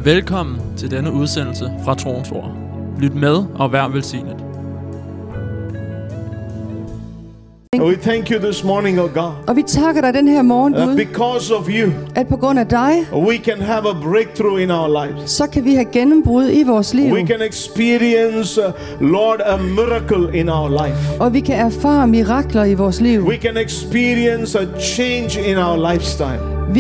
Velkommen til denne udsendelse fra Troens Ord. Lyt med og vær velsignet. We thank you this morning, oh God. Og vi takker dig den her morgen, Gud, Because of you, at på grund af dig, we can have a breakthrough in our lives. så kan vi have gennembrud i vores liv. We can experience, Lord, a miracle in our life. Og vi kan erfare mirakler i vores liv. We can experience a change in our lifestyle.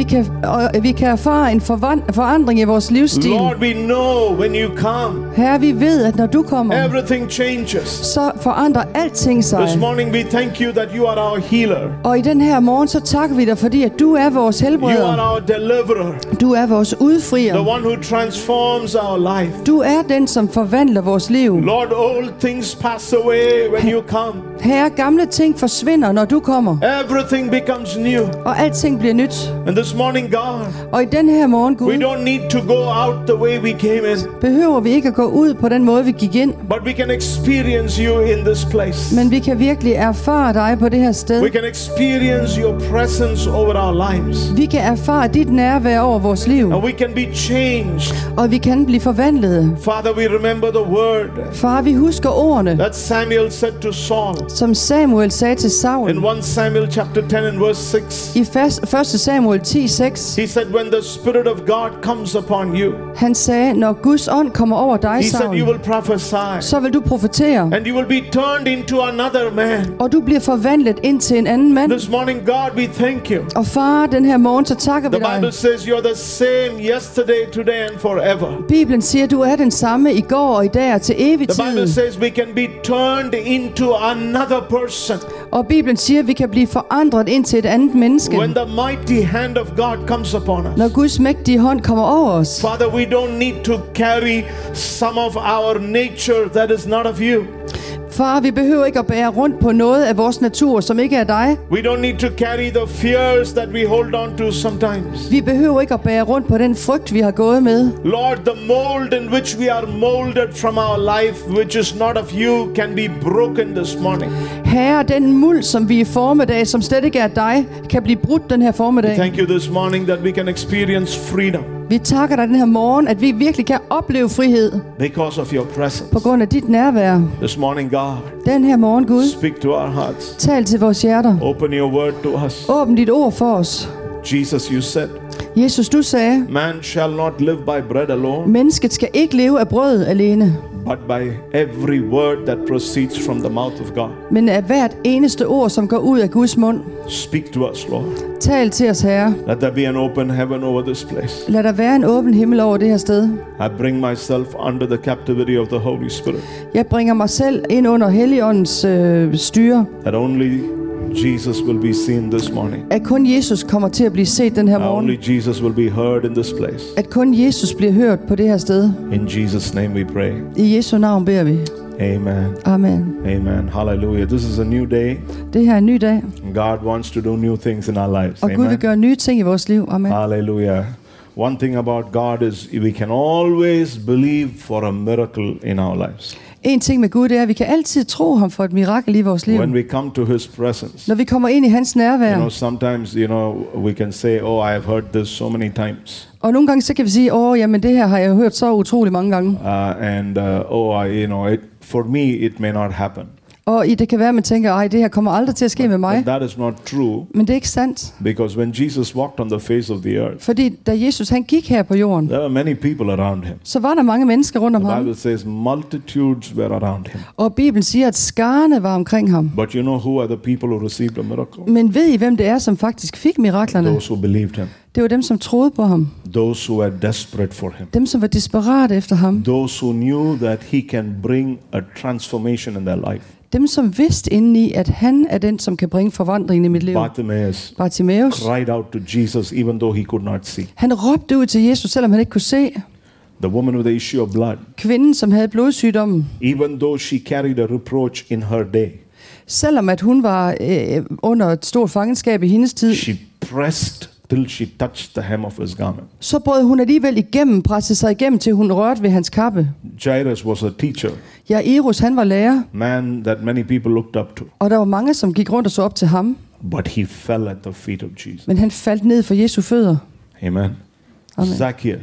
Vi kan erfare en forandring i vores livsstil. Lord, we know when you come, Herre, vi ved, at når du kommer, everything changes. så forandrer alting sig. This morning we thank you that you are our healer. Og i den her morgen, så takker vi dig, fordi at du er vores You helbreder. are our deliverer. Du er vores udfrier. The one who transforms our life. Du er den, som forvandler vores liv. Lord, old things pass away when you come. Herre, gamle ting forsvinder, når du kommer. Everything becomes new. Og alting bliver nyt. And this morning, God, Og i den her morgen, we Gud, don't need to go out the way we came in, behøver vi ikke at gå ud på den måde, vi gik ind. but we can experience you in this place. Men vi kan virkelig erfare dig på det her sted. We can experience your presence over our lives. Vi kan erfare dit nærvær over vores liv. And we can be changed. Og vi kan blive forvandlet. Father, we remember the word Far, vi husker ordene, that Samuel said to Saul som Samuel sagde til in Saul 1 Samuel chapter 10 and verse 6. i 1. Samuel 10:6. He said, when the Spirit of God comes upon you, Han sagde, når Guds ånd kommer over dig, he said, you Saul, will prophesy. så vil du profetere, And you will be turned into another man. og du bliver forvandlet ind til en anden mand. This morning, God, we thank you. Og far, den her morgen, så takker vi The Bible dig. says you're the same yesterday, today and forever. Bibelen siger, du er den samme i går og i dag og til evig The Bible tid. says we can be turned into another person Og Bibelen siger, at vi kan blive forandret ind til et andet menneske, when the mighty hand of God comes upon us. når Guds mægtige hånd kommer over os. Father, we don't need to carry some of our nature that is not of you. Far, vi behøver ikke at bære rundt på noget af vores natur, som ikke er dig. We don't need to carry the fears that we hold on to sometimes. Vi behøver ikke at bære rundt på den frygt, vi har gået med. Lord, the mold in which we are molded from our life, which is not of you, can be broken this morning. Herre, den muld, som vi er formet af, som slet ikke er dig, kan blive brudt den her formiddag. Thank you this morning that we can experience freedom Vi takker dig den her morgen, at vi virkelig kan opleve frihed because of your presence. på grund af dit nærvær. This morning, God, Den her morgen, Gud, speak to our hearts. tal til vores hjerter. Open your word to us. Åbn dit ord for os. Jesus, you said, Jesus, du sagde, man shall not live by bread alone, mennesket skal ikke leve af brød alene, but by every word that proceeds from the mouth of God. men af hvert eneste ord, som går ud af Guds mund. Speak to us, Lord. Tal til os, Herre. Let there be an open heaven over this place. Lad der være en åben himmel over det her sted. I bring myself under the captivity of the Holy Spirit, Jeg bringer mig selv ind under Helligåndens styre. that only Jesus will be seen this morning. At kun Jesus kommer til at blive set den her morgen. Only Jesus will be heard in this place. At kun Jesus bliver hørt på det her sted. In Jesus' name we pray. I Jesu navn beder vi. Amen. Amen. Amen. Hallelujah. This is a new day. Det her er en ny dag, God wants to do new things in our lives. og Gud vil Amen. gøre nye ting i vores liv. Amen. Hallelujah. One thing about God is we can always believe for a miracle in our lives. En ting med Gud, det er, at vi kan altid tro ham for et mirakel i vores liv. When we come to His presence, Når vi kommer ind i hans nærvær. sometimes, we can say, oh, I have heard this so many times. Og nogle gange så kan vi sige, jamen det her har jeg hørt så utrolig mange gange. For me, it may not happen. Og det kan være, at man tænker, det her kommer aldrig til at ske med mig. But that is not true. Men det er ikke sandt. Because when Jesus walked on the face of the earth, Fordi da Jesus han gik her på jorden, there were many people around him. så var der mange mennesker rundt om The ham. Bible says multitudes were around him. Og Bibelen siger, at skarne var omkring ham. But you know who are the people who received a miracle? Men ved I, hvem det er, som faktisk fik miraklerne? Those who believed him. Det var dem, som troede på ham. Those who were desperate for him. Dem, som var desperate efter ham. Those who knew that he can bring a transformation in their life. Dem, som vidste indeni, at han er den, som kan bringe forvandlingen i mit liv. Bartimaeus cried out to Jesus even though he could not see. Han råbte ud til Jesus, selvom han ikke kunne se. The woman with the issue of blood. Kvinden, som havde blodsygdommen. Even though she carried a reproach in her day. Selvom at hun var under et stort fangenskab i hendes tid. She pressed till she touched the hem of his garment. Så brød hun alligevel pressede sig igennem, til hun rørte ved hans kappe. Jairus was a teacher. Jairus, han var lærer. Man that many people looked up to. Og der var mange, som gik rundt og så op til ham. But he fell at the feet of Jesus. Men han faldt ned for Jesu fødder. Amen. Amen. Zacchaeus.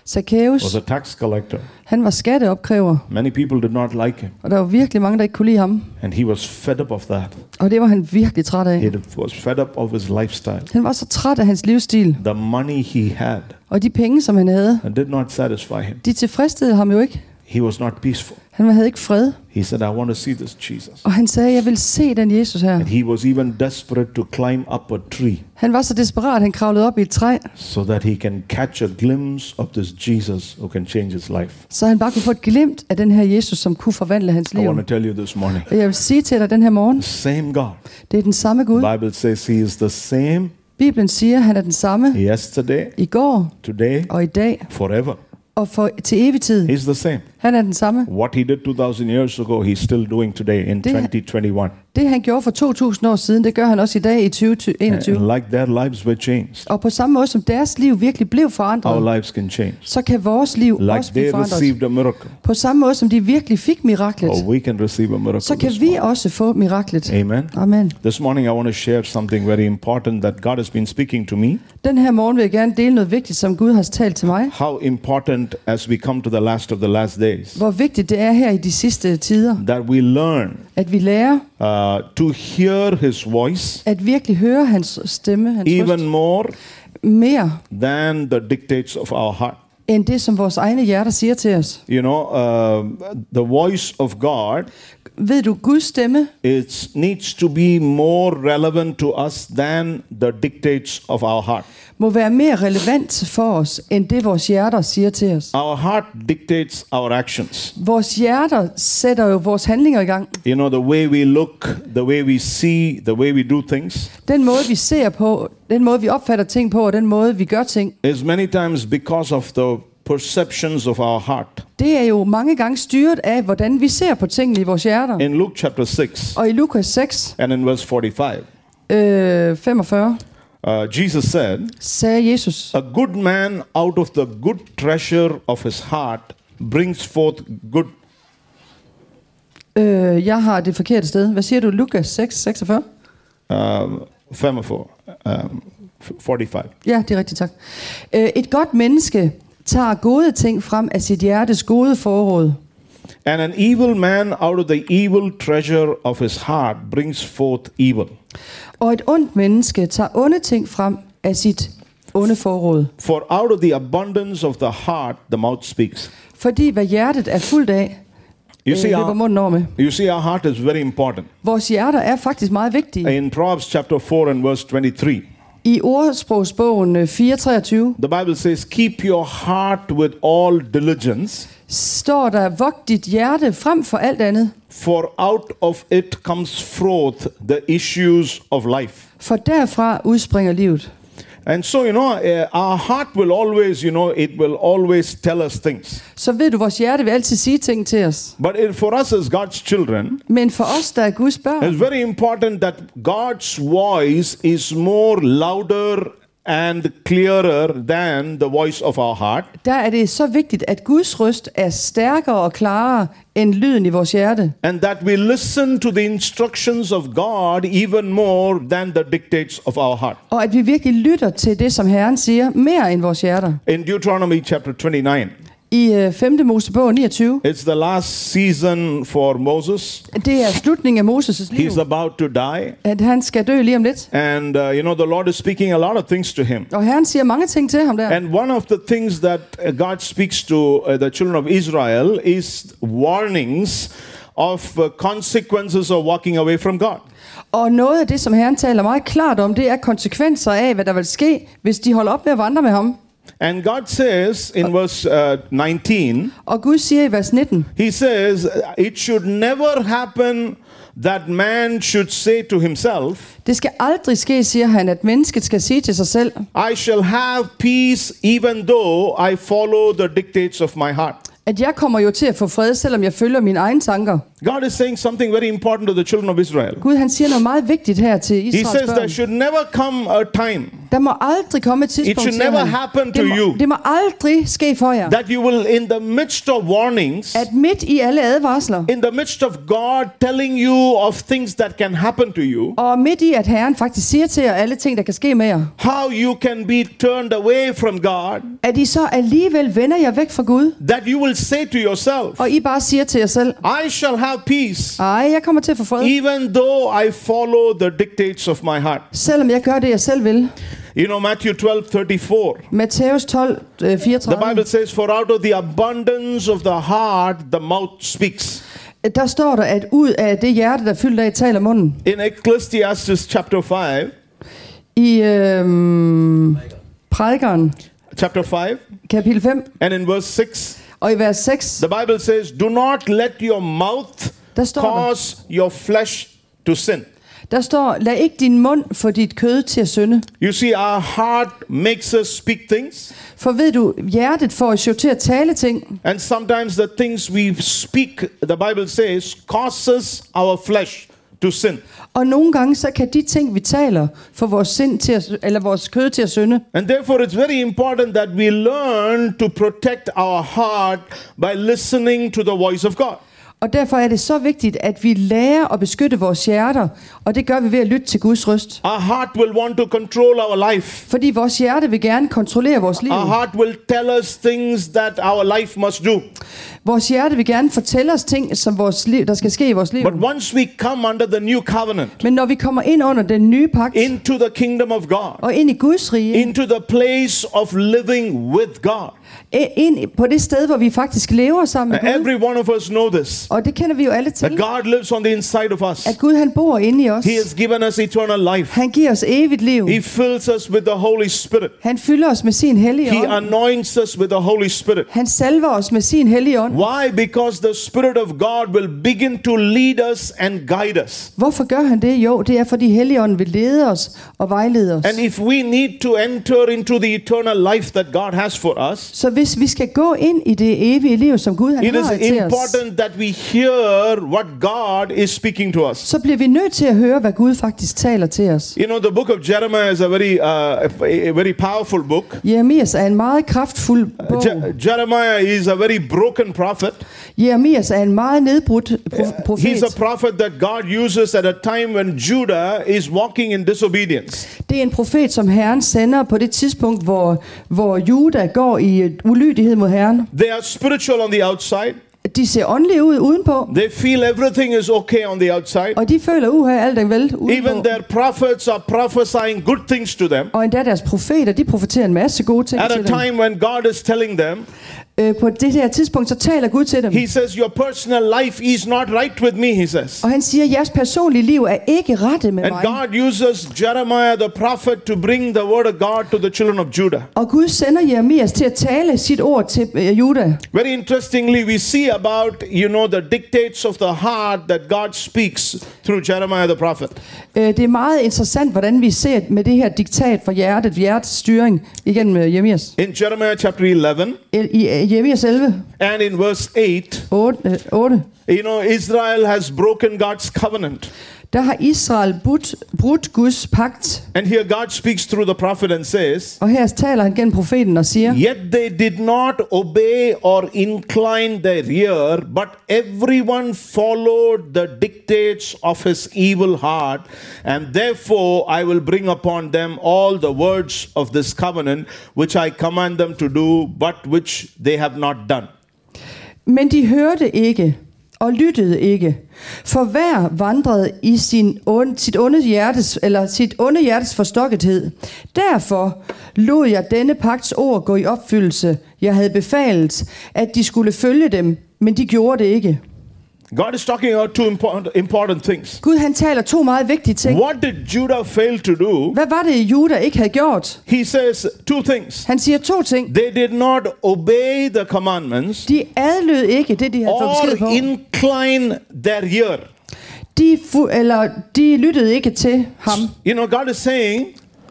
Zacchaeus was a tax collector. Han var skatteopkræver. Many people did not like him. Og der var virkelig mange, der ikke kunne lide ham. And he was fed up of that. Og det var han virkelig træt af. He was fed up of his lifestyle. Han var så træt af hans livsstil. The money he had. Og de penge, som han havde, did not satisfy him. De tilfredsstillede ham jo ikke. He was not peaceful. Han havde ikke fred. He said, I want to see this Jesus. Og han sagde, jeg vil se den Jesus her. And he was even desperate to climb up a tree. Han var så desperat, han kravlede op i et træ. So that he can catch a glimpse of this Jesus who can change his life. Så han bare kunne få et glimt af den her Jesus, som kunne forvandle hans liv. I want to tell you this morning. Og jeg vil sige til dig den her morgen. Same God. Det er den samme Gud. The Bible says he is the same. Bibelen siger, han er den samme. Yesterday. I går. Today. Og i dag. Forever. Og til evig tid. He's the same. Han er den samme. What he did 2000 years ago, he's still doing today in 2021. Det han gjorde for 2000 år siden, det gør han også i dag i 2021. And like their lives were changed. Og på samme måde som deres liv virkelig blev forandret. Our lives can change. Så kan vores liv like også blive forandret. Received a miracle. På samme måde som de virkelig fik miraklet. We can receive a miracle. Så kan vi også få miraklet. Amen. Amen. This morning I want to share something very important that God has been speaking to me. Den her morgen vil jeg gerne dele noget vigtigt, som Gud har talt til mig. How important as we come to the last of the last days. Hvor vigtigt det er her i de sidste tider. That we learn. At vi lærer. To hear His voice. At virkelig høre hans stemme, hans røst. Even more. Mere. Than the dictates of our heart. End det som vores egne hjerter siger til os. You know, the voice of God. Ved du, Guds stemme? It needs to be more relevant to us than the dictates of our heart. Må være mere relevant for os end det vores hjerter siger til os. Our heart dictates our actions. Vores hjerter sætter jo vores handlinger i gang. You know, the way we look, the way we see, the way we do things. Den måde vi ser på, den måde vi opfatter ting på, og den måde vi gør ting. Is many times because of the perceptions of our heart. Det er jo mange gange styret af hvordan vi ser på tingene i vores hjerter. In Luke chapter 6. Og i Lukas 6. And in verse 45. 45. Jesus sagde Jesus, a good man out of the good treasure of his heart brings forth good. Jeg har det forkerte sted. Hvad siger du? Lukas 6, 46? 45. 45. Ja, det er rigtigt, tak. Et godt menneske tager gode ting frem af sit hjertes gode forråd. And an evil man out of the evil treasure of his heart brings forth evil. Og et ondt menneske tager onde ting frem af sit onde forråd. For out of the abundance of the heart the mouth speaks. Fordi hvad hjertet er fuldt af, løber munden over med. You see, our heart is very important. Vores hjerter er faktisk meget vigtige. In Proverbs chapter 4 and verse 23. I ordsprogsbogen 4:23. The Bible says, keep your heart with all diligence. Står der, vogt dit hjerte frem for alt andet. For out of it comes forth the issues of life. For derfra udspringer livet. And so, you know, our heart will always, you know, it will always tell us things. Så ved du, vores hjerte vil altid sige ting til os. But for us as God's children, men for os, der er Guds børn, it's very important that God's voice is more louder and clearer than the voice of our heart. Der er det så vigtigt, at Guds røst er stærkere og klarere end lyden i vores hjerte. And that we listen to the instructions of God even more than the dictates of our heart. Og at vi virkelig lytter til det, som Herren siger, mere end vores hjerter. In Deuteronomy chapter 29. I 5. Mosebog 29. It's the last season for Moses. Det er slutningen af Moses' liv. He's about to die. At han skal dø lige om lidt. And you know, the Lord is speaking a lot of things to him. Og Herren siger mange ting til ham der. And one of the things that God speaks to the children of Israel is warnings of consequences of walking away from God. Og noget af det, som Herren taler meget klart om, det er konsekvenser af, hvad der vil ske, hvis de holder op med at vandre med ham. And God says in verse 19, og Gud siger i vers 19, He says, it should never happen that man should say to himself, det skal aldrig ske, siger han, at mennesket skal sige til sig selv, I shall have peace even though I follow the dictates of my heart. At jeg kommer jo til at få fred, selvom jeg følger mine egne tanker. God is saying something very important to the children of Israel. Gud han siger noget meget vigtigt her til He Israels says there børn. should never come a time, Der må aldrig komme et tidspunkt, it should siger never han. happen to you, Det må aldrig ske for jer, that you will, in the midst of warnings, at midt i alle advarsler, in the midst of God telling you of things that can happen to you, og midt i at Herren faktisk siger til jer alle ting, der kan ske med jer, how you can be turned away from God, at I så alligevel vender jer væk fra Gud, that you will say to yourself, og I bare siger til jer selv, I shall have peace, ej, jeg kommer til at få fred, even though I follow the dictates of my heart. selvom jeg gør det, jeg selv vil. You know, Matthew 12:34. Matthæus 12, The 34. Bible says, for out of the abundance of the heart, the mouth speaks. Der står der, at ud af det hjerte, der er fyldt af, taler munden. In Ecclesiastes chapter 5, I Prædikeren, chapter 5, kapitel 5, and in verse 6, og i vers 6, the Bible says, do not let your mouth der står der, cause your flesh to sin. lad ikke din mund få dit kød til at synde. You see, our heart makes us speak things, For ved du, hjertet får os jo til at tale ting, and sometimes the things we speak, the Bible says, causes our flesh to sin. og nogle gange så kan de ting, vi taler, få vores sind til at, eller vores kød til at synde. And therefore it's very important that we learn to protect our heart by listening to the voice of God. Og derfor er det så vigtigt, at vi lærer at beskytte vores hjerter, og det gør vi ved at lytte til Guds røst. Our heart will want to control our life. Fordi vores hjerte vil gerne kontrollere vores liv. Our heart will tell us things that our life must do. Vores hjerte vil gerne fortælle os ting, som vores liv, der skal ske i vores liv. But once we come under the new covenant, Men når vi kommer ind under den nye pagt, into the kingdom of God, og ind i Guds rige, into the place of living with God, ind på det sted, hvor vi faktisk lever sammen med Gud, every one of us know this, og det kender vi jo alle that til, God lives on the inside of us. at Gud han bor inde i os. He has given us eternal life. Han giver os evigt liv. He fills us with the Holy Spirit. Han fylder os med sin hellige He ånd. anoints us with the Holy Spirit. Han salver os med sin hellige ånd. Why? Because the Spirit of God will begin to lead us and guide us. Hvorfor gør han det? Jo, det er fordi Helligånden vil lede os og vejlede os. And if we need to enter into the eternal life that God has for us, Så hvis vi skal gå ind i det evige liv, som Gud han it is har til os, important that we hear what God is speaking to us. så bliver vi nødt til at høre, hvad Gud faktisk taler til os. You know, the book of Jeremiah is a very powerful book. Jeremias er en meget kraftfuld bog. Jeremiah is a very broken prophet. Jeremias er en meget nedbrudt profet. He's a prophet that God uses at a time when Judah is walking in disobedience. Det er en profet, som Herren sender på det tidspunkt, hvor Juda går i ulydighed mod Herren. They are spiritual on the outside. De ser åndelige ud udenpå, They feel everything is okay on the outside. og de føler, alt er vel udenpå. Even their prophets are prophesying good things to them. Og endda deres profeter, de profeterer en masse gode ting At a til dem. time when God is telling them, På det her tidspunkt, så taler Gud til dem. He says, your personal life is not right with me, he says. Og han siger, jeres personlige liv er ikke rette med And mig. God uses Jeremiah the prophet to bring the word of God to the children of Judah. Og Gud sender Jeremias til at tale sit ord til Juda. Very interestingly, we see about, the dictates of the heart that God speaks through Jeremiah the prophet. Det er meget interessant, hvordan vi ser med det her diktat fra hjertets styring igennem Jeremias. In Jeremiah chapter 11 I Jeremias 11, and in verse 8, 8, Israel has broken God's covenant. der har Israel brudt Guds pagt. And here God speaks through the prophet and says, Og her taler han gennem profeten og siger, yet they did not obey or incline their ear, but everyone followed the dictates of his evil heart, and therefore I will bring upon them all the words of this covenant, which I command them to do, but which they have not done. men de hørte ikke og lyttede ikke. For hver vandrede i sit onde hjertes forstokkethed. Derfor lod jeg denne pagts ord gå i opfyldelse. Jeg havde befalet, at de skulle følge dem, men de gjorde det ikke. God is talking about two important things. Gud han taler to meget vigtige ting. What did Judah fail to do? Hvad var det, Juda ikke havde gjort? He says two things. Han siger to ting. They did not obey the commandments De adlød ikke det, de havde fået or besked på. incline their ear. De lyttede ikke til ham. God is saying,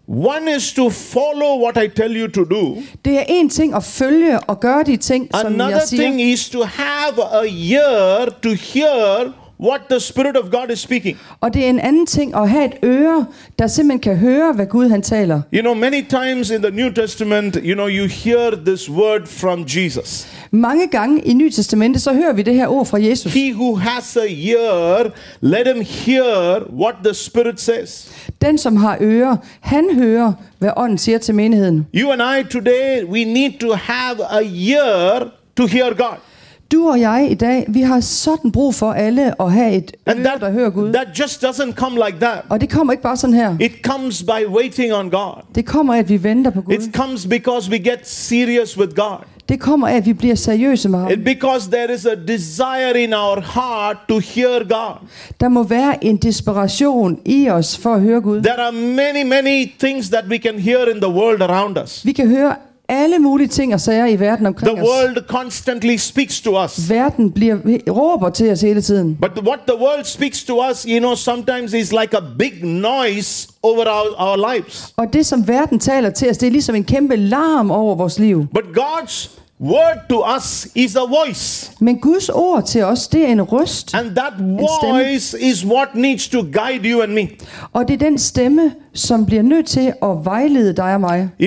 One is to follow what I tell you to do. Det er en ting at følge og gøre de ting, som jeg Another siger. thing is to have a ear to hear what the Spirit of God is speaking. Og det er en anden ting at have et øre, der simpelthen kan høre, hvad Gud han taler. You know, many times in the New Testament, you hear this word from Jesus. Mange gange i Nye Testamentet, så hører vi det her ord fra Jesus. He who has a ear, let him hear what the Spirit says. Den, som har ører, han hører, hvad ånden siger til menigheden. You and I today, we need to have a ear to hear God. Du og jeg i dag, vi har sådan brug for alle at have et And øre, der hører Gud. that just doesn't come like that. Og det kommer ikke bare sådan her. It comes by waiting on God. Det kommer af, at vi venter på Gud. It comes because we get serious with God. Det kommer af, at vi bliver seriøse med ham. Because there is a desire in our heart to hear God. Der må være en desperation i os for at høre Gud. There are many things that we can hear in the world around us. Vi kan høre alle mulige ting og sager i verden omkring The os. world constantly speaks to us. Verden råber til os hele tiden. But what the world speaks to us, sometimes is like a big noise over our lives. Og det, som verden taler til os, det er ligesom en kæmpe larm over vores liv. But God's word to us is a voice. Men Guds ord til os, det er en røst. And that voice is what needs to guide you and me. Og det er den stemme, som bliver nødt til at vejlede dig og mig. In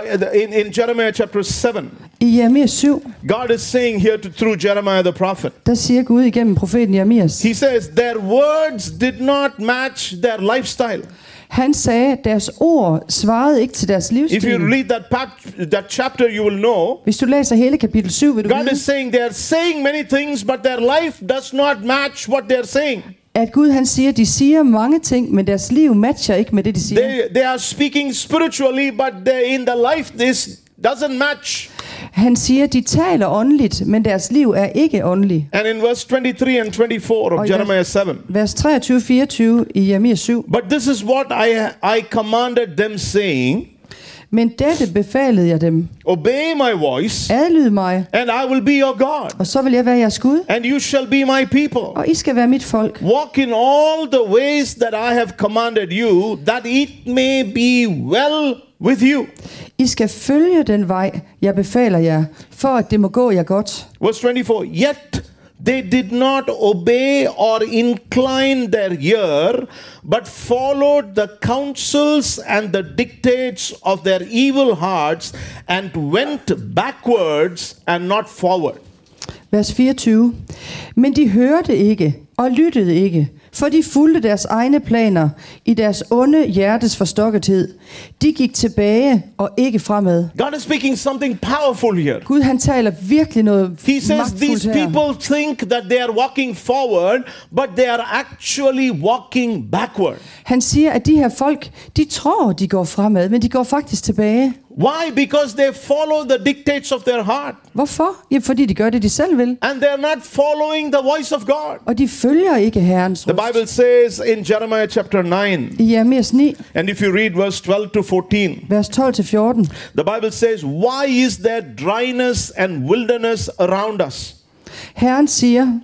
Jeremiah chapter 7, I Jeremia 7, God is saying here through Jeremiah the prophet. der siger Gud igennem profeten Jeremias. He says, their words did not match their lifestyle. Han sagde, at deres ord svarede ikke til deres If you livsstil. read that chapter, you will know. Hvis du læser hele kapitel 7, vil du God vide, is saying they are saying many things, but their life does not match what they are saying. at Gud han siger, at de siger mange ting, men deres liv matcher ikke med det, de siger. They are speaking spiritually, but in the life this doesn't match. Han siger, at de taler åndeligt, men deres liv er ikke åndeligt. And in verse 23 and 24 of Jeremiah 7. Vers 23-24 i Jeremia 7. But this is what I commanded them, saying, Men dette befalede jeg dem. obey my voice, Adlyd mig, and I will be your God, og så vil jeg være jeres Gud, and you shall be my people. og I skal være mit folk. Walk in all the ways that I have commanded you, that it may be well with you. I skal følge den vej, jeg befaler jer, for at det må gå jer godt. Verse 24, yet they did not obey or incline their ear, but followed the counsels and the dictates of their evil hearts, and went backwards and not forward. Vers 24. Men de hørte ikke og lyttede ikke, for de fulgte deres egne planer i deres onde hjertes forstokkethed. De gik tilbage og ikke fremad. God is speaking something powerful here. Gud han taler virkelig noget He says magtfuldt these her. people think that they are walking forward, but they are actually walking backward. Han siger, at de her folk, de tror, de går fremad, men de går faktisk tilbage. Why? Because they follow the dictates of their heart, Hvorfor? Ja, fordi de gør det, de selv vil. and they are not following the voice of God. Og de følger ikke Herrens The røst. Bible says in Jeremiah chapter 9, I Jeremias 9, and if you read verse 12 to 14, vers 12-14. the Bible says, why is there dryness and wilderness around us? Herren siger,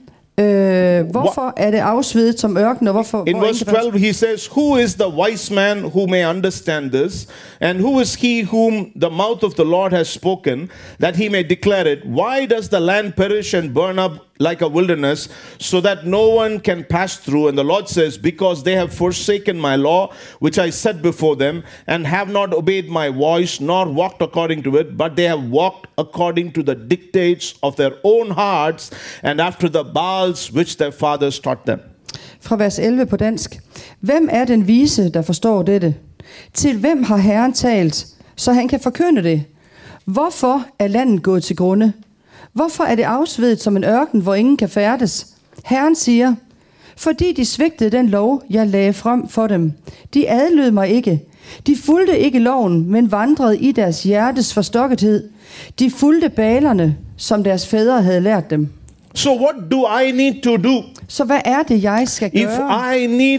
hvorfor er det afsvedet som ørken, og hvorfor... In hvor verse ikke der- 12, he says, who is the wise man who may understand this? And who is he whom the mouth of the Lord has spoken, that he may declare it? Why does the land perish and burn up like a wilderness, so that no one can pass through? And the Lord says, because they have forsaken my law, which I set before them, and have not obeyed my voice, nor walked according to it, but they have walked according to the dictates of their own hearts, and after the Baals which their fathers taught them. Fra vers 11 på dansk. Hvem er den vise, der forstår dette? Til hvem har Herren talt, så han kan forkynde det? Hvorfor er landet gået til grunde? Hvorfor er det afsvedet som en ørken, hvor ingen kan færdes? Herren siger, fordi de svigtede den lov, jeg lagde frem for dem. De adlød mig ikke. De fulgte ikke loven, men vandrede i deres hjertes forstokkethed. De fulgte balerne, som deres fædre havde lært dem. So what do I need to do? Så hvad er det, jeg skal If gøre,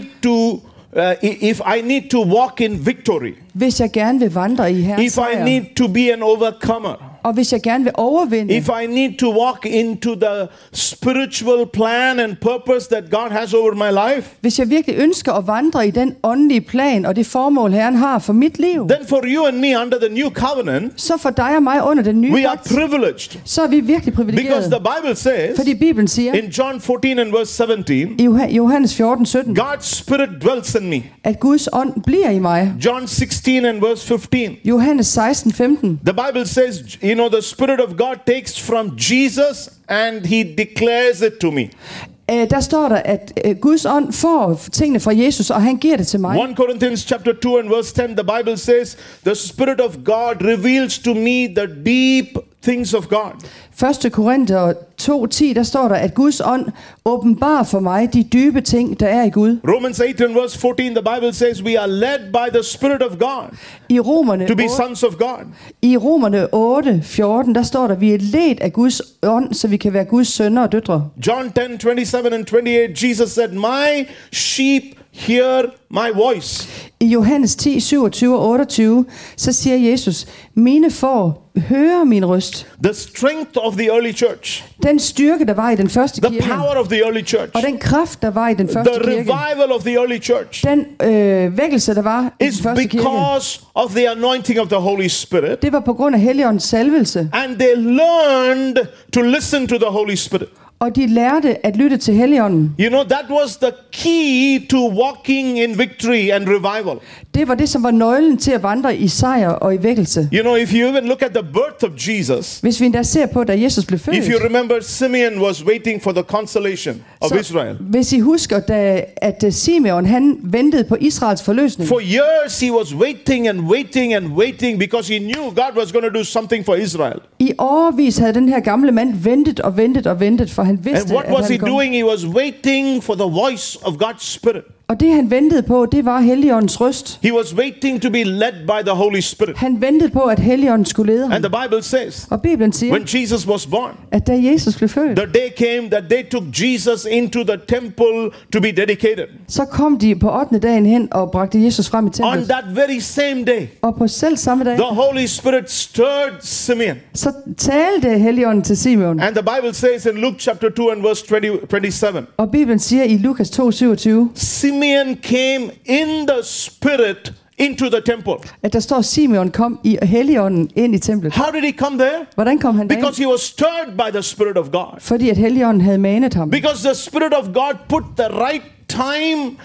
if I need to walk in victory, hvis jeg gerne vil vandre i Herrens if I sejr? need to be an overcomer, Og hvis jeg gerne vil overvinde, if I need to walk into the spiritual plan and purpose that God has over my life, hvis jeg virkelig ønsker at vandre i den åndelige plan og det formål, Herren har for mit liv, then for you and me under the new covenant, så for dig og mig under den nye we are pagt, privileged. så er vi virkelig Because privilegerede. the Bible says Fordi Bibelen siger in John 14 and verse 17, i Johannes 14:17, God's Spirit dwells in me. at Guds ånd bliver i mig. John 16 and verse 15. Johannes 16:15. The Bible says, the Spirit of God takes from Jesus and he declares it to me. Der står der, at Guds ånd får tingene fra Jesus, og han giver det til mig. 1 Corinthians chapter 2 and verse 10, the Bible says, the Spirit of God reveals to me the deep things of God. 1. Korinther 2:10, der står der, at Guds ånd åbenbarer for mig de dybe ting, der er i Gud. Romans 8 and verse 14, the Bible says, we are led by the Spirit of God I Romerne to be sons of God. 8:14, der står der, vi er ledt af Guds ånd, så vi kan være Guds sønner og døtre. John 10:27 and 28, Jesus said, my sheep hear my voice. I Johannes 10:27 og 28, så siger Jesus, mine får hører min røst. The strength of the early church, Den styrke, der var i den første the kirke, power of the early church, og den kraft, der var i den første the kirke, revival of the early church den vækkelse, der var i den is første kirke, because of the anointing of the Holy Spirit, det var på grund af Helligåndens salvelse. and they learned to listen to the Holy Spirit. Og de lærte at lytte til Helligånden. That was the key to walking in victory and revival. Det var det, som var nøglen til at vandre i sejr og i vækkelse. If you even look at the birth of Jesus, Hvis vi endda ser på, da Jesus blev født, if you remember, Simeon was waiting for the consolation of Israel. hvis I husker, at Simeon, han ventede på Israels forløsning. For years he was waiting and waiting and waiting because he knew God was going to do something for Israel. I årevis havde den her gamle mand ventet og ventet og ventet, for han vidste, And what at was han he kom. doing? He was waiting for the voice of God's Spirit. Og det han ventede på, det var Helligåndens røst. He was waiting to be led by the Holy Spirit. Han ventede på, at Helligånden skulle lede ham. And the Bible says, Og Bibelen siger, when Jesus was born, at da Jesus blev født, the day came that they took Jesus into the temple to be dedicated. så kom de på 8. dagen hen og bragte Jesus frem i On templet. that very same day, Og på selv samme dag, the Holy Spirit stirred Simeon. så talte Helligånden til Simeon. And the Bible says in Luke chapter 2 and verse 27, Og Bibelen siger i Lukas 2:27, Simeon came in the Spirit into the temple. at der står, Simeon kom i Helligånden ind i templet. How did he come there? Hvordan kom han derind? Because he was stirred by the Spirit of God. Fordi at Helligånden havde manet ham. Because the Spirit of God put the right time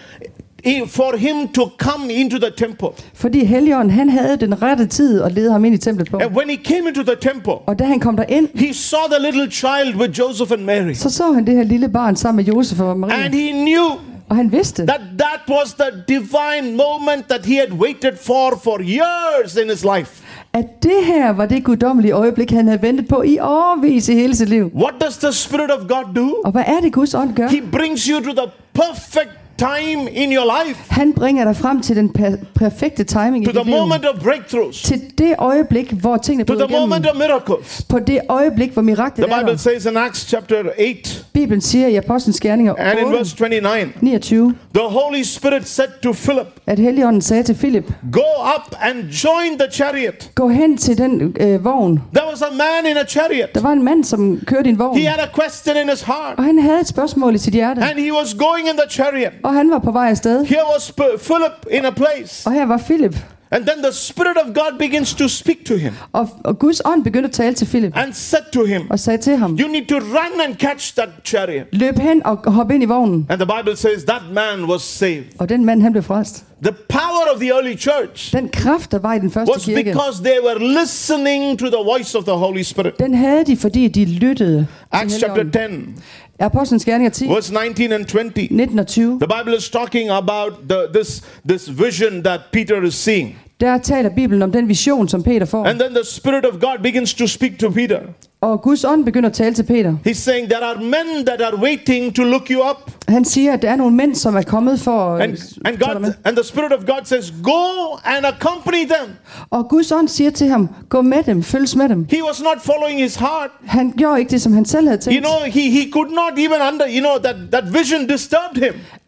for him to come into the temple. Fordi Helligånden, han havde den rette tid at lede ham ind i templet på. And when he came into the temple, Og da han kom derind, he saw the little child with Joseph and Mary. så han det her lille barn sammen med Josef og Maria. And he knew Og han vidste, that was the divine moment that he had waited for years in his life. at det her var det guddommelige øjeblik, han havde ventet på i årevis i hele sit liv. What does the Spirit of God do? Og hvad er det, Guds ånd gør? He brings you to the perfect time in your life, Han bringer dig frem til den perfekte timing i to dit the liv. moment of breakthroughs, Til det øjeblik, hvor tingene to bryder the moment igennem. of miracles. På det øjeblik, hvor miraklet The er Bible der. says in Acts chapter 8 Bibelen siger i Apostlenes Gerninger and in verse 29, 29, the Holy Spirit said to Philip, at Helligånden sagde til Philip, go up and join the chariot. gå hen til den vogn. There was a man in a chariot. Der var en mand, som kørte i en vogn, He had a question in his heart, og han havde et spørgsmål i sit hjerte, and he was going in the chariot. og han var på vej afsted. Here was Philip in a place, Og her var Philip, and then the Spirit of God begins to speak to him og Guds ånd begyndte at tale til Philip, and said to him, og sagde til ham, you need to run and catch that chariot. løb hen og hop ind i vognen. And the Bible says that man was saved. Og den mand, han blev frelst. The power of the early church Den kraft, der var i den første was kirke, because they were listening to the voice of the Holy Spirit. den havde de, fordi de lyttede Acts til chapter Helligånden. 10, Apostlenes Gerninger 10, verse 19 and 20. 19 og 20. The Bible is talking about this vision that Peter is seeing. Der taler Bibelen om den vision, som Peter får. And then the Spirit of God begins to speak to Peter. Og Guds ånd begynder at tale til Peter. He's saying there are men that are waiting to look you up. Han siger, at der er nogle mænd, som er kommet for at And tale med. the Spirit of God says, go and accompany them. Og Guds ånd siger til ham, gå med dem, følges med dem. He was not following his heart. Han gjorde ikke det, som han selv havde tænkt. He could not even that vision disturbed him.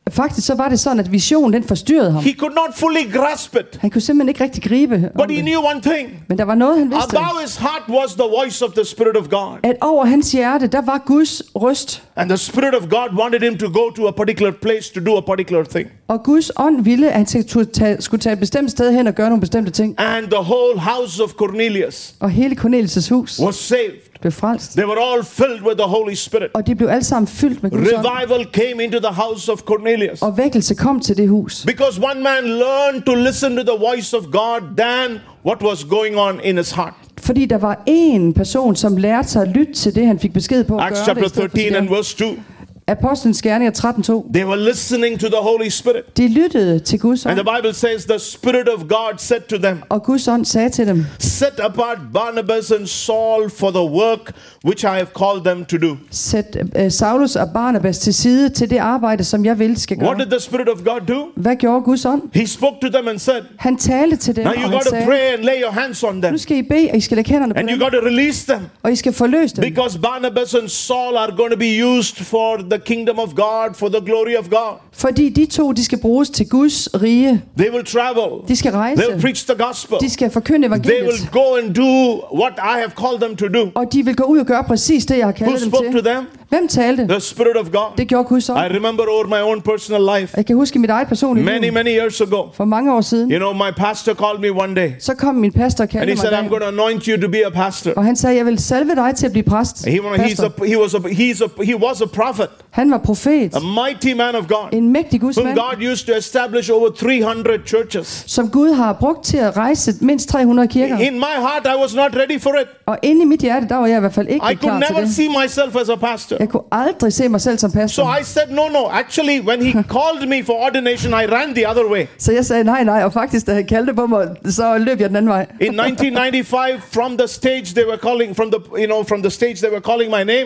Faktisk så var det sådan, at visionen den forstyrrede ham. He could not fully grasp it. Han kunne simpelthen ikke rigtig gribe om But he det. knew one thing. Men der var noget, han vidste. Above his heart was the voice of the Spirit of God. At over hans hjerte, der var Guds røst. And the Spirit of God wanted him to go to a particular place to do a particular thing. Og Guds ånd ville, at han skulle tage et bestemt sted hen og gøre nogle bestemte ting. And the whole house of Cornelius Og hele Cornelius' hus was saved. blev frelst. They were all filled with the Holy Spirit. Og de blev alle sammen fyldt med Guds ånd. Revival came into the house of Cornelius. Og vækkelse kom til det hus. Because one man learned to listen to the voice of God than what was going on in his heart. Fordi der var en person, som lærte sig at lytte til det, han fik besked på at Acts gøre chapter det. I stedet for 13 and det. verse 2. Apostlenes Gerninger 13:2. They were listening to the Holy Spirit. De lyttede til Guds And ånd. the Bible says the Spirit of God said to them, Og Guds ånd sagde til dem, set apart Barnabas and Saul for the work which I have called them to do. sæt Saulus og Barnabas til side til det arbejde, som jeg vil skal What gøre. did the Spirit of God do? Hvad gjorde Guds ånd? He spoke to them and said, Han talte til dem, now og you han got to sagde, pray and lay your hands on them. nu skal I bede, og I skal lægge hænderne på And you dem, got to release them. og I skal forløse dem. Because Barnabas and Saul are going to be used for the kingdom of God, for the glory of God. Fordi de to, de skal bruges til Guds rige. They will travel. De skal They will rejse. preach the gospel. De skal forkynde They evangeliet. will go and do what I have called them to do. Og de vil gå ud og gøre præcis det, jeg har Who kaldet dem spoke to til. them? Hvem talte? The Spirit of God. Det gjorde Guds ånd. I remember over my own personal life, Jeg kan huske mit eget personlige many, liv. many years ago. For mange år siden. You know, my pastor called me one day Så kom min pastor og and kaldte he mig said, en I'm going dag. to anoint you to be a pastor. Og han sagde, jeg vil salve dig til at blive præst. He Pastor. was a prophet, Han var profet. a mighty man of God, En mægtig Guds whom mand, God used to establish over 300 churches. som Gud har brugt til at rejse mindst 300 kirker. In my heart, I was not ready for it. Og inde i mit hjerte, der var jeg i hvert fald ikke I could klar til never det. see myself as a pastor. Jeg kunne aldrig se mig selv som So pastor. I said, no. Actually, when he called me for ordination, I ran the other way. Så jeg sagde nej, og faktisk, da han kaldte på mig, så løb jeg den anden vej. In 1995, from the stage they were calling, from the stage they were calling my name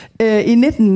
I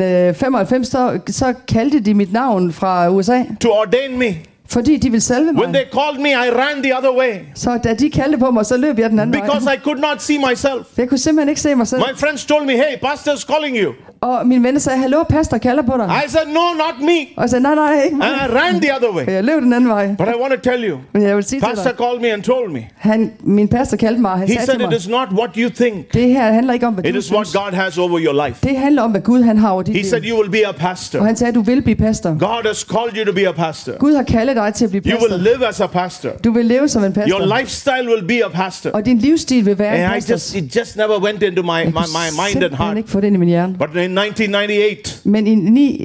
1995, så kaldte de mit navn fra USA, to ordain me. fordi de ville salve When mig. they called me, I ran the other way Så da de kaldte på mig, så løb jeg den anden because vej. I could not see myself. Jeg kunne simpelthen ikke se mig selv. My friends told me, hey, pastor's calling you. Og mine venner sagde, hallo, pastor kalder på dig. I said, no, not me. Og jeg sagde, nej, ikke mig. And I ran the other Og way. jeg løb den anden vej. But I want to tell you, Men jeg vil sige til pastor dig, called me and told me. min pastor kaldte mig, og han He sagde said, til it mig, is not what you think. det her handler ikke om, hvad It du is what synes. God has over your life. Det handler om, hvad Gud han har over dit He said, liv. you will be a Og pastor. han sagde, du vil blive pastor. God has called you to be a pastor. Gud har kaldet dig til at blive You pastor. will live as a pastor. Du vil leve som en Your pastor. lifestyle will be a pastor. Og din livsstil vil være en And pastor. it just never went into my mind and Simpelthen heart. ikke få det ind i min hjerne. But in 1998, Men i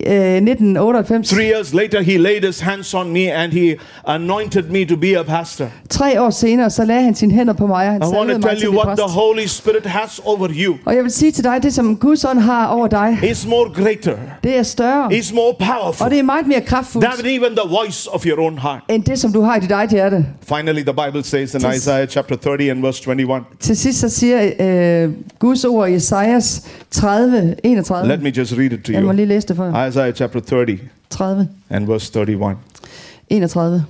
1998, 3 years later, he laid his hands on me and he anointed me to be a pastor. 3 år senere, så lagde han sine hænder på mig, og han I want salvede to mig tell til at you blive what the præst. Holy Spirit has over you Og jeg vil sige til dig, det som Guds ånd har over dig, is more greater, det er større. is more Og powerful det er meget mere kraftfuldt, than even the voice of your own heart. end det, som du har i dit eget hjerte. Finally, the Bible says in Isaiah chapter 30 and verse 21. Til sidst så siger Guds ord i Esajas 30, 31. Let me just read it to Jeg må you. lige læse det for jer. Isaiah chapter 30 30, and verse 31. 31.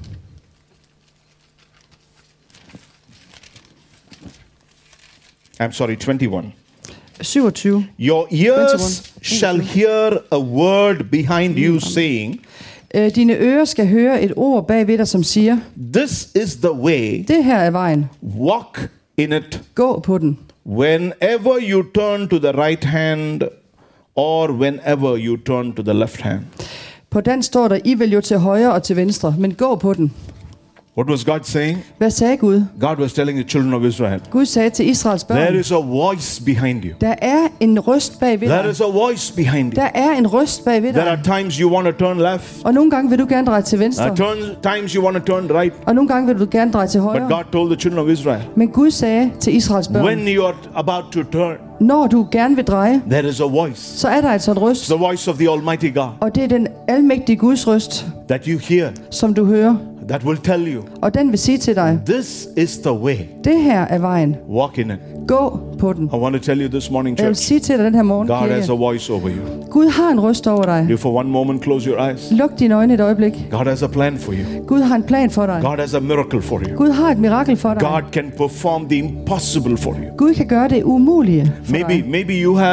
I'm sorry, 21. 27. Your ears 21. shall hear a word behind you saying, Dine ører skal høre et ord bagved dig, som siger, this is the way, det her er vejen. walk in it. Gå på den. Whenever you turn to the right hand or whenever you turn to the left hand. På den står der, I vil jo til højre og til venstre, men gå på den. What was God saying? Hvad sagde Gud? God was telling the children of Israel, Gud sagde til Israels there børn, is a voice behind you. der er en røst bagved There dig. is a voice behind you. Der er en røst bagved There are dig. times you want to turn left. Og nogle gange vil du gerne dreje til There venstre, are times you want to turn right. og nogle gange vil du gerne dreje til But højre. God told the children of Israel, Men Gud sagde til Israels børn, when you are about to turn, når du gerne vil dreje, there is a voice. så er der altså en røst. It's the voice of the Almighty God Og det er den almægtige Guds røst, that you hear, som du hører. that will tell you, Og den vil sige til dig, this is the way. det her er vejen. Walk in it. Gå på den. I want to tell you this morning, Jeg vil church, sige til dig den her morgen, God has a kirke, voice over you. Gud har en røst over dig. You for one moment close your eyes. Luk dine øjne et øjeblik. God has a plan for you. Gud har en plan for dig. God has a miracle for you. Gud har et mirakel for dig. God can perform the impossible for you. Gud kan gøre det umulige for dig. Maybe you have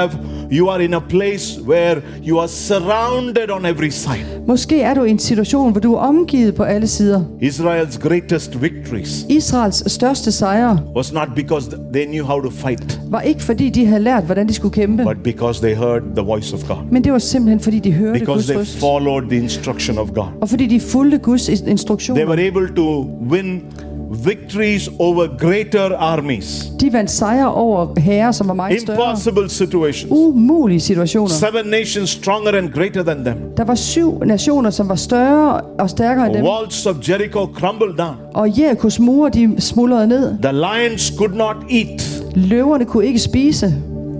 You are in a place where you are surrounded on every side. Måske er du i en situation, hvor du er omgivet på alle sider. Israel's greatest victories Israels største sejre was not because they knew how to fight, var ikke fordi de havde lært, hvordan de skulle kæmpe, but because they heard the voice of God. men det var simpelthen fordi de hørte Because Guds they røst, followed the instruction of God. og fordi de fulgte Guds They instruktioner. were able to win victories over greater armies. De vandt sejre over hære, som var meget større. Impossible situations. Umulige situationer. 7 nations stronger and greater than them. Der var 7 nationer, som var større og stærkere end dem. Walls of Jericho crumbled down. Og Jerikos mure, de smuldrede ned. The lions could not eat. Løverne kunne ikke spise.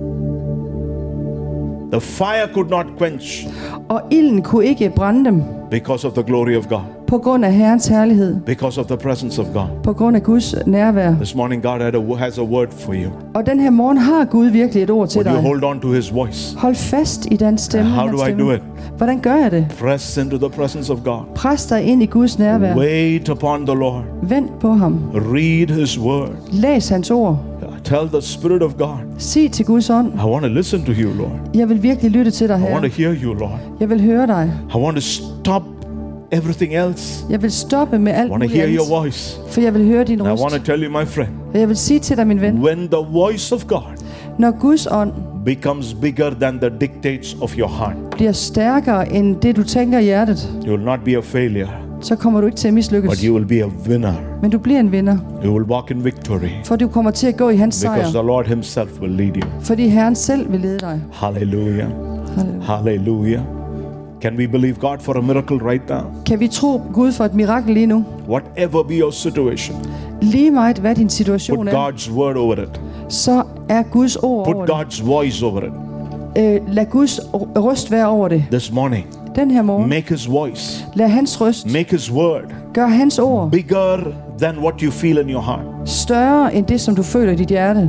The fire could not quench Og ilden kunne ikke brænde dem. because of the glory of God, På grund af Herrens herlighed. because of the presence of God. På grund af Guds nærvær. This morning God has a word for you. Og den her morgen har Gud virkelig et ord til Would you dig. hold on to his voice? Hold fast i den stemme. How hans do I stemme. do it? Hvordan gør jeg det? Press into the presence of God. Pres dig ind i Guds nærvær. Wait upon the Lord. Vent på ham. Read his word. Læs hans ord. Tell the Spirit of God, Sig til Guds ånd. I want to listen to you, Lord. Jeg vil virkelig lytte til dig, I want to Herre. hear you, Lord. Jeg vil høre dig. I want to stop everything else. Jeg vil stoppe med I alt want to muligt hear your andet. voice. For jeg vil høre din And I want røst. to tell you, my friend, Og jeg vil sige til dig, min ven. when the voice of God Når Guds ånd becomes bigger than the dictates of your heart, bliver stærkere end det, du tænker i hjertet, you will not be a failure, så kommer du ikke til at mislykkes. but you will be a winner. Men du bliver en vinder. You will walk in victory For du kommer til at gå i hans sejr. because the Lord himself will lead you. Fordi Herren selv vil lede dig. Hallelujah. Halleluja. Hallelujah. Can we believe God for a miracle right now? Kan vi tro Gud for et mirakel lige nu? Whatever be your situation, Lige meget hvad din situation put er, God's word over it. så er Guds ord Put over det. God's voice over it. Lad Guds røst være over det. This morning, Den her morgen. make his voice, Lad hans røst. make his word Gør hans ord bigger than what you feel in your heart. større end det, som du føler i dit hjerte.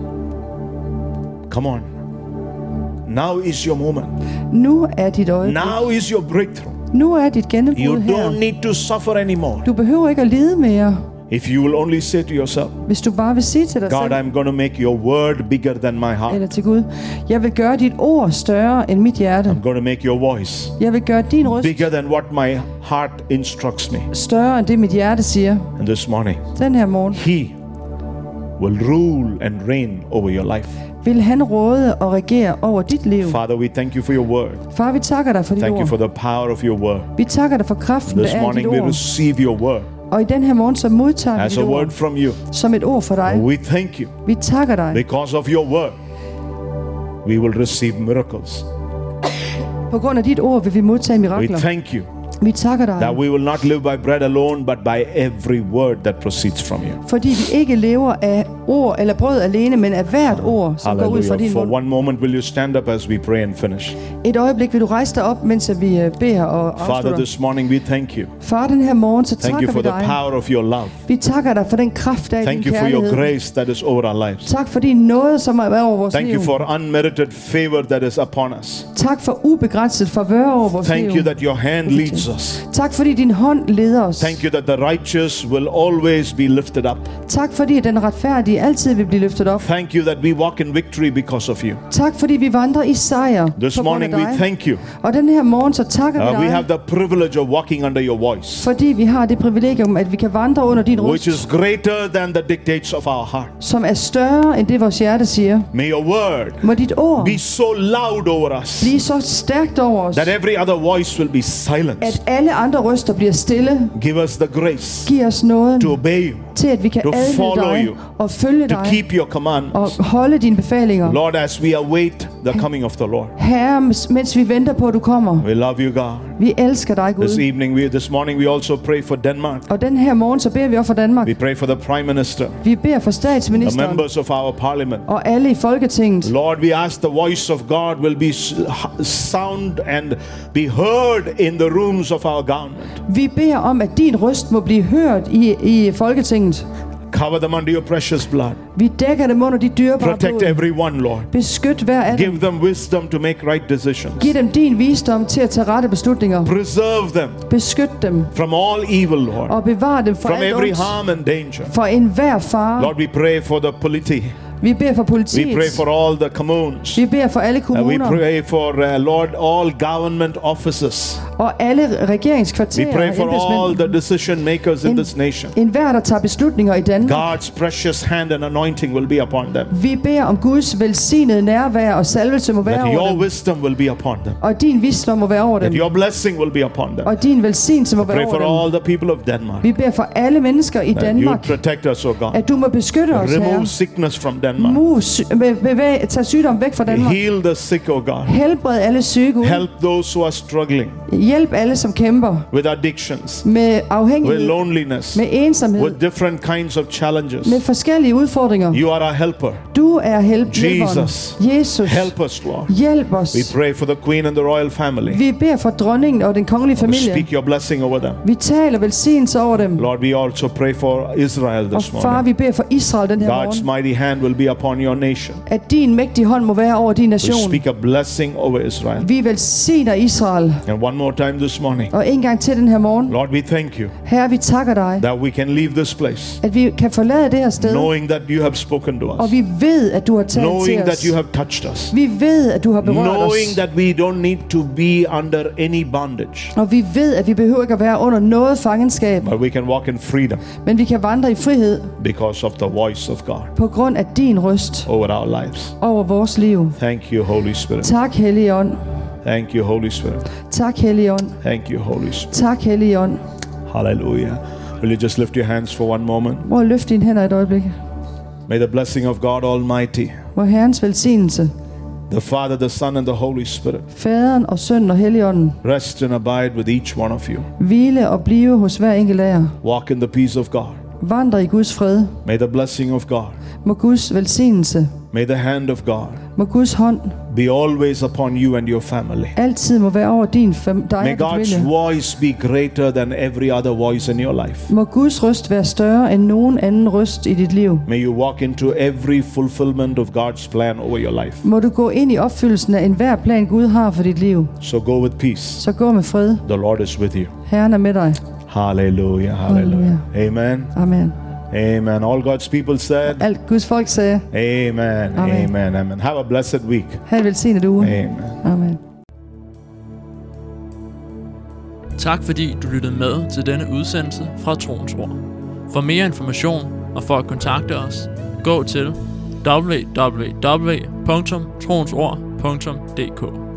Come on. Now is your moment. Nu er dit øjeblik. Now is your breakthrough. Nu er dit You gennembrud don't her. need to suffer anymore. Du behøver ikke at lide mere, If you will only say to yourself, hvis du bare vil sige til dig God, selv, I'm going to make your word bigger than my heart. eller til Gud, jeg vil gøre dit ord større end mit hjerte. I'm going to make your voice Jeg vil gøre din røst bigger than what my heart instructs me. større end det, mit hjerte siger. And this morning, Den her morgen He will rule and reign over your life. vil han råde og regere over dit liv. Father, we thank you for your word. Far, vi takker dig for dit Thank you for ord. the power of your word. Vi takker dig for kraften, der This er i dit morning we ord. receive your word Og i den her morgen, så modtager vi as dit a word ord from you. som et ord for dig. We thank you. Vi takker dig. Because of your word, we will receive miracles. På grund af dit ord vil vi modtage We mirakler. thank you Vi takker that dig, we will not live by bread alone, but by every word that proceeds from you. fordi vi ikke lever af ord eller brød alene, men af hvert ord, som går ud fra Hallelujah. din For mund. one moment, will you stand up as we pray and finish? Et øjeblik vil du rejse dig op, mens vi beder og Father, afslutter. this morning we thank you. Far, den her morgen, så Thank you takker for vi the dig. power of your love. Vi takker dig for den kraft, der er i Thank din you for your kærlighed. grace that is over our lives. Tak for din nåde, som er over vores Thank liv. you for unmerited favor that is upon us. Tak for ubegrænset favør over vores Thank liv. you that your hand leads us. Tak fordi din hånd leder os. Thank you that the righteous will always be lifted up. Tak fordi den retfærdige altid vil blive løftet op. Thank you that we walk in victory because of you. Tak fordi vi vandrer i sejr This på grund af morning we dig. thank you. Og den her morgen, så takker vi We have dig, the privilege of walking under your voice, fordi vi har det privilegium, at vi kan vandre under din which røst, is greater than the dictates of our heart. som er større end det, vores hjerte siger. May your word Må dit ord be so loud over us blive så stærkt over os, that every other voice will be silenced. at alle andre røster bliver stille. Give us the grace Giv os nåden to obey you, til, at vi kan to adlyde follow dig you, og følge to dig keep your commandments. og holde dine befalinger. Lord, as we await the coming of the Lord, Herre, mens vi venter på, at du kommer. we love you, God. Vi elsker dig, This Gud. this morning, we also pray for Denmark. Og den her morgen, så beder vi også for Danmark. We pray for the Prime Minister, Vi beder for the statsministeren members of our parliament. og alle i Folketinget. Lord, we ask the voice of God will be sound and be heard in the rooms of our government. Vi beder om, at din røst må blive hørt i Folketinget. Cover them under your precious blood. Vi dækker dem under dit dyrebare Protect blod. everyone, Lord. Beskyt hver af dem. Give them wisdom to make right decisions. Giv dem din visdom til at tage rette beslutninger. Preserve them Beskyt dem from all evil, Lord. og bevar dem fra From alt every ondt. harm and danger. For enhver fare. Lord, we pray for the polity. Vi beder for politiet. We pray for all the communes. Vi beder for alle We kommuner. pray for, Lord, all government offices. Og alle We regeringskvarterer pray og for all embedsmænd. the decision makers in this nation. En hver, der tager beslutninger i Danmark. God's precious hand and anointing will be upon them. Vi beder om Guds velsignede nærvær og salvelse må være That over your dem. wisdom will be upon them. Og din visdom må være over That dem. your blessing will be upon them. Og din velsignelse må være Pray over for dem. all the people of Denmark. Vi beder for alle mennesker i That you Danmark, protect us, O God. at du må beskytte os, Remove Herre. sickness from Denmark. Tag sygdom væk fra Danmark. Heal the sick, O God. Helbred alle syge, Gud. Help those who are struggling Hjælp alle, som kæmper with addictions, med with afhængighed, loneliness, med ensomhed, with different kinds of challenges. med forskellige udfordringer. You are our helper. Du er hjælperen. Jesus. Jesus, Help us, Lord. hjælp os. We pray for the Queen and the royal family. Vi beder for dronningen og den kongelige We familie. speak your blessing over them. Vi taler velsignelse over dem. Lord, we also pray for Israel Og this far, morning. vi beder for Israel den her God's morgen, mighty hand will be upon your nation. at din mægtige hånd må være over din We nation. speak a blessing over Israel. Vi velsigner Israel. And one more time this morning, Og en gang til den her morgen. Lord, we thank you Herre, vi takker dig, that we can leave this place at vi kan forlade det her sted. knowing that you have spoken to Og us, vi ved, at du har talt knowing til that os. you have touched us, Vi ved, at du har berørt knowing os. that we don't need to be under any bondage, Og vi ved, at vi behøver ikke at være under noget fangenskab. but we can walk in freedom Men vi kan vandre i frihed because of the voice of God på grund af din røst over our lives. over vores liv. Thank you, Holy Spirit. Tak, Hellige Ånd. Thank you, Holy Spirit. Tak, Hellige Ånd. Thank you, Holy Spirit. Tak, Hellige Ånd. Hallelujah. Will you just lift your hands for one moment? Prøv at løfte dine hænder et øjeblik. May the blessing of God Almighty, Hvor Herrens velsignelse, the Father, the Son, and the Holy Spirit Faderen og Sønnen og Helligånden, rest and abide with each one of you. hvile og blive hos hver enkelt af jer. Walk in the peace of God. Vandre i Guds fred. May the blessing of God, Må Guds velsignelse, may the hand of God må Guds hånd be always upon you and your family. altid må være over dig og May din God's familie. voice be greater than every other voice in your life. Må Guds røst være større end nogen anden røst i dit liv. May you walk into every fulfillment of God's plan over your life. Må du gå ind i opfyldelsen af enhver plan, Gud har for dit liv. So go with peace. Så gå med fred. The Lord is with you. Herren er med dig. Hallelujah. Hallelujah. Amen. Amen. Amen. All God's people said, Alt Guds folk sagde, Amen. Amen. Amen. Amen. Have a blessed week. have en velsignet uge. Amen. Amen. Tak fordi du lyttede med til denne udsendelse fra Troens Ord. For mere information og for at kontakte os, gå til www.troensord.dk.